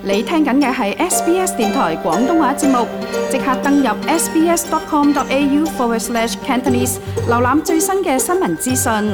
你聽緊嘅係 SBS 電台廣東話節目，即刻登入 sbs.com.au/Cantonese 瀏覽最新嘅新聞資訊。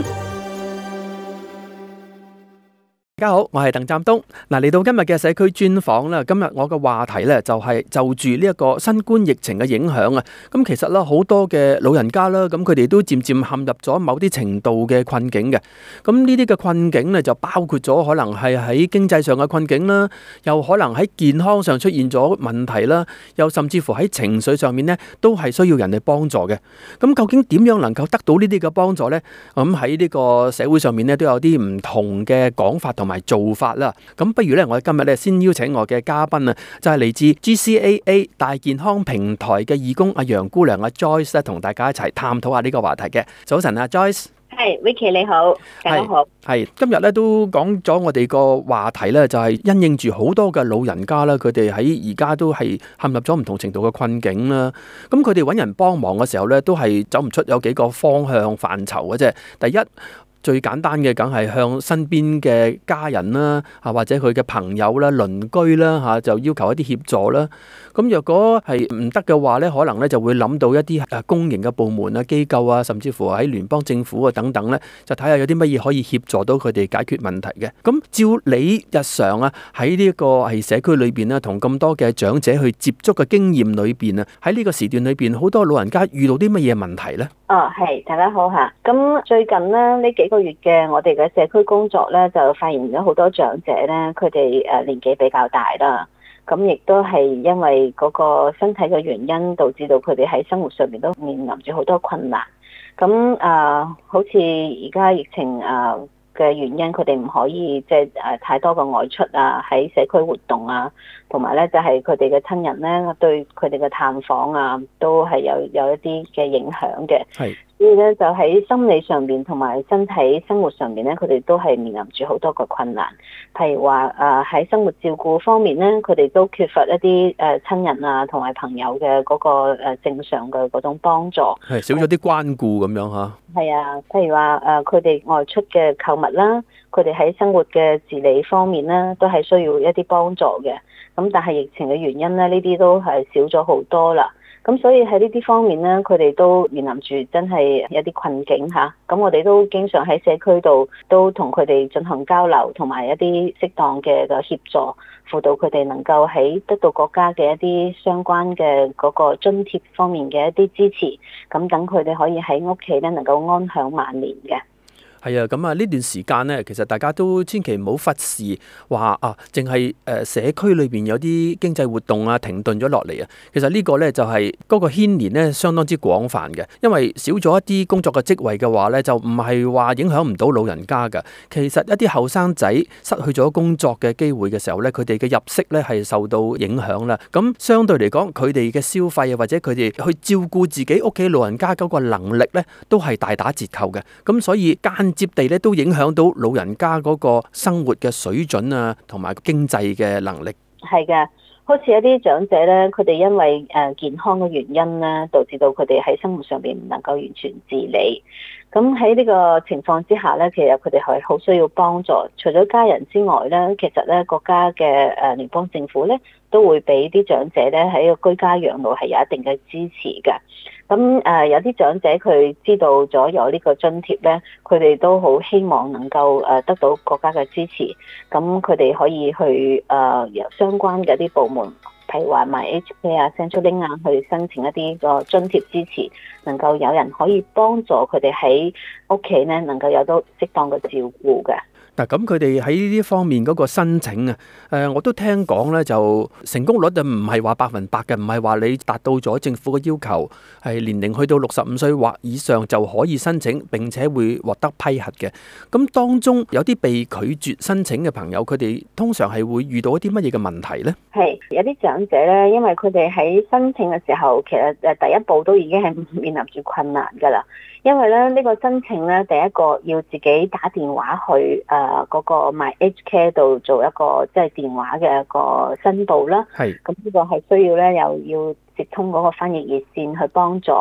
大家好，我係鄧湛東。嚟到今日嘅社區專訪啦。今日我嘅話題呢，就係就住呢一個新冠疫情嘅影響啊。咁其實啦，好多嘅老人家啦，咁佢哋都漸漸陷入咗某啲程度嘅困境嘅。咁呢啲嘅困境呢，就包括咗可能係喺經濟上嘅困境啦，又可能喺健康上出現咗問題啦，又甚至乎喺情緒上面呢，都係需要人哋幫助嘅。咁究竟點樣能夠得到呢啲嘅幫助呢？咁喺呢個社會上面呢，都有啲唔同嘅講法同埋做法啦。咁不如咧，我哋今日咧先邀請我嘅嘉賓啊，就係嚟自 GCAA 大健康平台嘅義工阿楊姑娘阿 Joyce 咧，同大家一齊探討下呢個話題嘅。早晨啊 Joyce。 係 Vicky 你好，大家好。 係今日咧都講咗我哋個話題咧，就係因應住好多嘅老人家啦，佢哋喺而家都係陷入咗唔同程度嘅困境啦。咁佢哋揾人幫忙嘅時候咧，都係走唔出有幾個方向範疇嘅啫。第一，最簡單嘅梗係向身邊嘅家人啦，或者佢嘅朋友啦、鄰居啦，就要求一啲協助啦。咁若果係唔得嘅話咧，可能咧就會諗到一啲公營嘅部門啊、機構啊，甚至乎喺聯邦政府啊等等咧，就睇下有啲乜嘢可以協助到佢哋解決問題嘅。咁照你日常啊喺呢一個係社區裏邊咧，同咁多嘅長者去接觸嘅經驗裏邊啊，喺呢個時段裏邊，好多老人家遇到啲乜嘢問題咧？ 係，大家好嚇。咁最近咧呢幾個月嘅我哋嘅社區工作咧，就發現咗好多長者咧，佢哋年紀比較大啦。咁亦都係因為嗰個身體嘅原因，導致到佢哋喺生活上面都面臨住好多困難。咁好似而家疫情嘅原因，佢哋唔可以即係太多嘅外出啊，喺社區活動啊，同埋咧就係佢哋嘅親人咧對佢哋嘅探訪啊，都係有一啲嘅影響嘅。 係。 所以咧就喺心理上面同埋身體生活上面咧，佢哋都係面臨住好多個困難。譬如話喺生活照顧方面咧，佢哋都缺乏一啲親人啊同埋朋友嘅嗰個正常嘅嗰種幫助， 係少咗啲關顧咁樣嚇。 係啊，譬如話佢哋外出嘅購物啦，佢哋喺生活嘅自理方面咧，都係需要一啲幫助嘅。咁但係疫情嘅原因咧，呢啲都係少咗好多啦。咁所以喺呢啲方面咧，佢哋都面臨住真係一啲困境嚇。咁我哋都經常喺社區度都同佢哋進行交流，同埋一啲適當嘅協助，輔導佢哋能夠喺得到國家嘅一啲相關嘅嗰個津貼方面嘅一啲支持，咁等佢哋可以喺屋企咧能夠安享晚年嘅。 係啊，咁啊呢段時間呢，其實大家都千祈唔好忽視話淨係社區裏邊有啲經濟活動啊停頓咗落嚟啊。其實呢個呢，就係嗰個牽連呢相當之廣泛嘅，因為少咗一啲工作嘅職位嘅話呢，就唔係話影響唔到老人家㗎。其實一啲後生仔失去咗工作嘅機會嘅時候呢，佢哋嘅入息呢係受到影響啦。咁相對嚟講，佢哋嘅消費啊，或者佢哋去照顧自己屋企老人家嗰個能力呢，都係大打折扣嘅。咁所以間接地咧都影響到老人家嗰個生活嘅水準啊，同埋經濟嘅能力。 係嘅，好似一啲長者咧，佢哋因為健康嘅原因咧，導致到佢哋喺生活上邊唔能夠完全自理。咁喺呢個情況之下咧，其實佢哋係好需要幫助。除咗家人之外咧，其實咧國家嘅聯邦政府咧都會俾啲長者咧喺個居家養老係有一定嘅支持嘅。咁有啲長者佢知道咗有呢個津貼咧，佢哋都好希望能夠得到國家嘅支持。咁佢哋可以去由相關嘅一啲部門，譬如話 MyHK 啊、Centrelink 啊，去申請一啲個津貼支持，能夠有人可以幫助佢哋喺屋企咧能夠有到適當嘅照顧嘅。 嗱，咁佢哋喺呢啲方面嗰個申請啊，我都聽講咧，就成功率就唔係話100%嘅，唔係話你達到咗政府嘅要求，係年齡去到65歲或以上就可以申請，並且會獲得批核嘅。咁當中有啲被拒絕申請嘅朋友，佢哋通常係會遇到一啲乜嘢嘅問題咧？ 係有啲長者咧，因為佢哋喺申請嘅時候，其實第一步都已經係面臨住困難㗎啦。因為咧呢個申請咧，第一個要自己打電話去嗰個 MyHK 度做一個即係電話嘅一個申報啦。係。咁呢個係需要咧，又要接通嗰個翻譯熱線去幫助，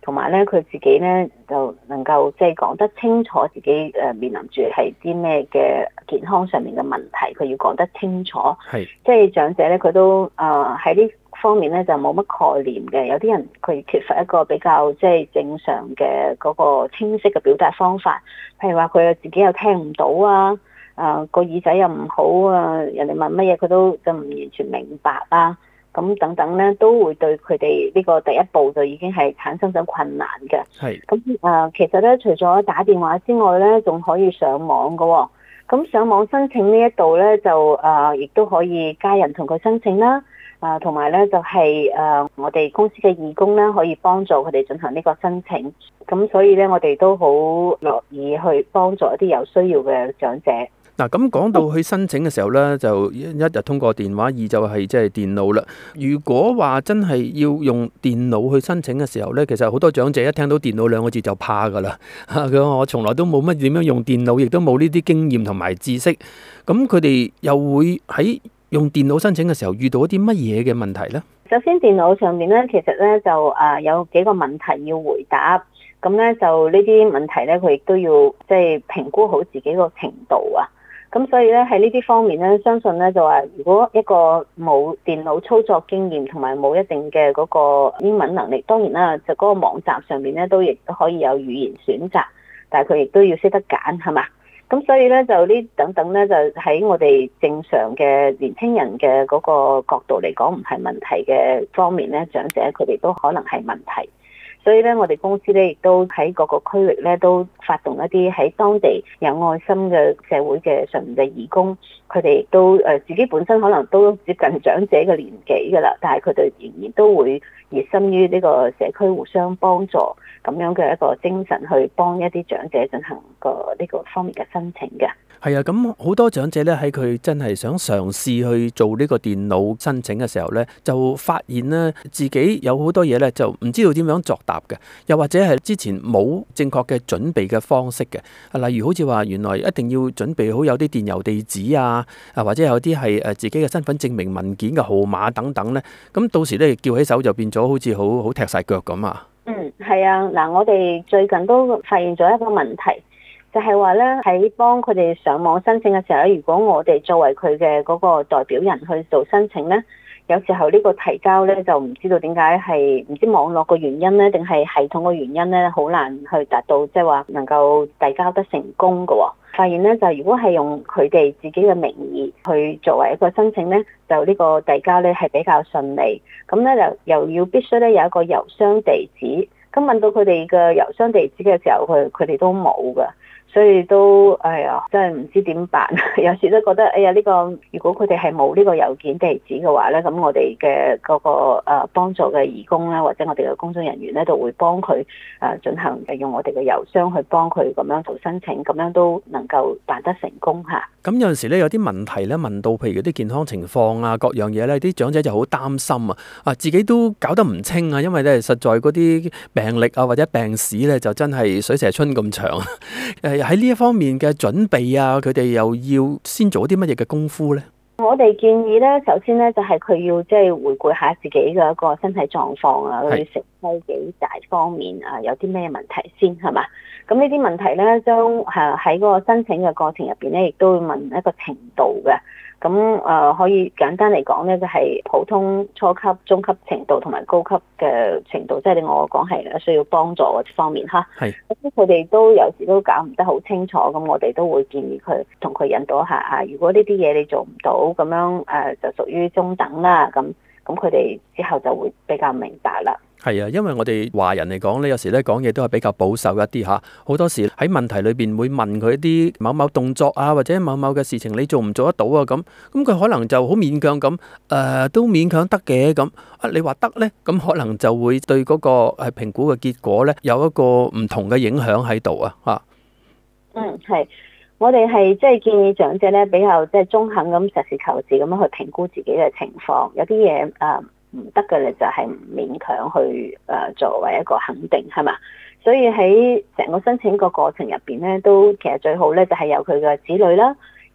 同埋咧佢自己咧就能夠即係講得清楚自己面臨住係啲咩嘅健康上面嘅問題，佢要講得清楚。 係即係長者咧，佢都喺呢方面咧就冇乜概念嘅。有啲人佢缺乏一個比較即係正常嘅嗰個清晰嘅表達方法，譬如話佢自己又聽唔到啊，個耳仔又唔好啊，人哋問乜嘢佢都就唔完全明白啊。咁等等咧，都會對佢哋呢個第一步就已經係產生咗困難嘅。 係咁其實咧，除咗打電話之外咧，仲可以上網嘅喎。咁上網申請呢一度咧，就亦都可以家人同佢申請啦。同埋咧就係我哋公司嘅義工咧，可以幫助佢哋進行呢個申請。咁所以咧，我哋都好樂意去幫助一啲有需要嘅長者。 嗱，咁講到去申請嘅時候咧，就一日通過電話，二就係即係電腦啦。如果話真係要用電腦去申請嘅時候咧，其實好多長者一聽到電腦兩個字就怕噶啦。佢話我從來都冇乜點樣用電腦，亦都冇呢啲經驗同埋知識。咁佢哋又會喺用電腦申請嘅時候遇到一啲乜嘢嘅問題咧？ 首先電腦上面咧，其實咧就有幾個問題要回答。咁咧就呢啲問題咧，佢亦都要即係評估好自己個程度啊。咁所以咧喺呢啲方面咧，相信咧就話，如果一個冇電腦操作經驗同埋冇一定嘅嗰個英文能力，當然啦，就嗰個網站上面咧都亦都可以有語言選擇，但係佢亦都要識得揀，係嘛？咁所以咧就呢等等咧，就喺我哋正常嘅年輕人嘅嗰個角度嚟講，唔係問題嘅方面咧，長者佢哋都可能係問題。所以咧，我哋公司咧亦都喺各個區域咧都發動一啲喺當地有愛心嘅社會嘅上面嘅義工，佢哋亦都自己本身可能都接近長者嘅年紀㗎啦，但係佢哋仍然都會熱心於呢個社區互相幫助咁樣嘅一個精神，去幫一啲長者進行呢個方面嘅申請嘅。 係啊，咁好多長者咧喺佢真係想嘗試去做呢個電腦申請嘅時候咧，就發現咧自己有好多嘢咧就唔知道點樣作答嘅，又或者係之前冇正確嘅準備嘅方式嘅。例如好似話原來一定要準備好有啲電郵地址啊，或者有啲係自己嘅身份證明文件嘅號碼等等咧，咁到時咧叫起手就變咗好似好踢晒腳咁啊。 係啊，嗱，我哋最近都發現咗一個問題。就係話咧，喺幫佢哋上網申請嘅時候咧，如果我哋作為佢嘅嗰個代表人去做申請咧，有時候呢個提交咧就唔知道點解係唔知網絡個原因咧，定係系統個原因咧，好難去達到即係話能夠遞交得成功嘅喎。發現咧就如果係用佢哋自己嘅名義去作為一個申請咧，就呢個遞交咧係比較順利。咁咧又要必須咧有一個郵箱地址。咁問到佢哋嘅郵箱地址嘅時候，佢哋都冇㗎。所以都真係唔知點辦，有時都覺得呢個如果佢哋係冇呢個郵件地址嘅話咧，咁我哋嘅嗰個幫助嘅義工咧，或者我哋嘅工作人員咧，就會幫佢進行用我哋嘅郵箱去幫佢咁樣做申請，咁樣都能夠辦得成功嚇。 咁有陣時咧有啲問題咧問到，譬如啲健康情況啊，各樣嘢咧，啲長者就好擔心啊，自己都搞得唔清啊，因為咧實在嗰啲病歷啊或者病史咧就真係水蛇春咁長。喺呢一方面嘅準備啊，佢哋又要先做啲乜嘢嘅功夫呢？ 我哋建議咧，首先咧就係佢要即係回顧下自己嘅一個身體狀況啊，佢食低幾大方面啊，有啲咩問題先係嘛？咁呢啲問題咧，將喺嗰個申請嘅過程入邊咧，亦都會問一個程度嘅。咁可以簡單嚟講咧，就係普通、初級、中級程度同埋高級嘅程度，即係我講係需要幫助嘅方面嚇。 係。 咁佢哋都有時都搞唔得好清楚，咁我哋都會建議佢同佢引導一下啊。如果呢啲嘢你做唔到，咁樣就屬於中等啦。咁佢哋之後就會比較明白啦。 係啊，因為我哋華人嚟講咧，有時咧講嘢都係比較保守一啲嚇。好多時喺問題裏邊會問佢一啲某某動作啊，或者某某嘅事情你做唔做得到啊？咁佢可能就好勉強咁，都勉強得嘅咁。你話得咧，咁可能就會對嗰個評估嘅結果咧有一個唔同嘅影響喺度啊嚇。 係。我哋係即係建議長者咧比較即係中肯咁實事求是咁樣去評估自己嘅情況，有啲嘢唔得嘅咧就係唔勉強去作為一個肯定係嘛，所以喺成個申請個過程入邊咧都其實最好咧就係有佢嘅子女啦，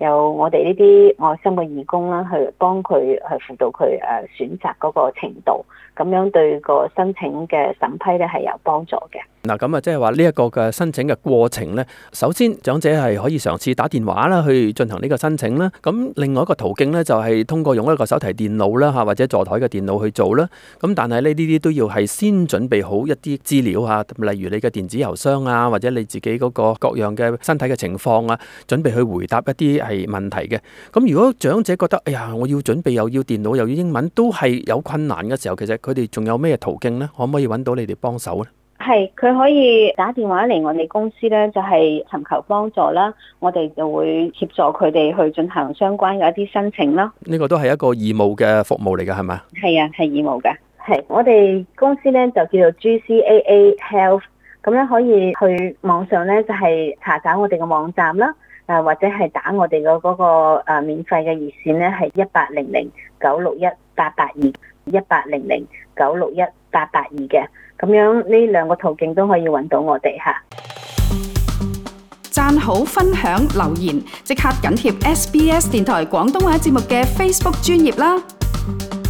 有我哋呢啲愛心嘅義工啦，去幫佢去輔導佢選擇嗰個程度，咁樣對個申請嘅審批咧係有幫助嘅。 嗱，咁啊，即係話呢一個嘅申請嘅過程咧，首先長者係可以嘗試打電話啦，去進行呢個申請啦。咁另外一個途徑咧，就係通過用一個手提電腦啦嚇，或者座台嘅電腦去做啦。咁但係呢啲都要係先準備好一啲資料嚇，例如你嘅電子郵箱啊，或者你自己嗰個各樣嘅身體嘅情況啊，準備去回答一啲係問題嘅。咁如果長者覺得，哎呀，我要準備又要電腦又要英文，都係有困難嘅時候，其實佢哋仲有咩途徑咧？可唔可以揾到你哋幫手咧？ 係，佢可以打電話嚟我哋公司咧，就係尋求幫助啦。我哋就會協助佢哋去進行相關嘅一啲申請啦。 呢個都係一個義務嘅服務嚟㗎，係咪？ 係啊，係義務嘅。係，我哋公司咧就叫做 GCAA Health， 咁咧可以去網上咧就係查找我哋嘅網站啦，或者係打我哋嘅嗰個免費嘅熱線咧係1800-961-882 1800-961-882嘅。咁樣呢兩個途徑都可以揾到我哋嚇。 讚好、分享、留言，即刻緊貼SBS 電台廣東話節目嘅 Facebook 專頁啦！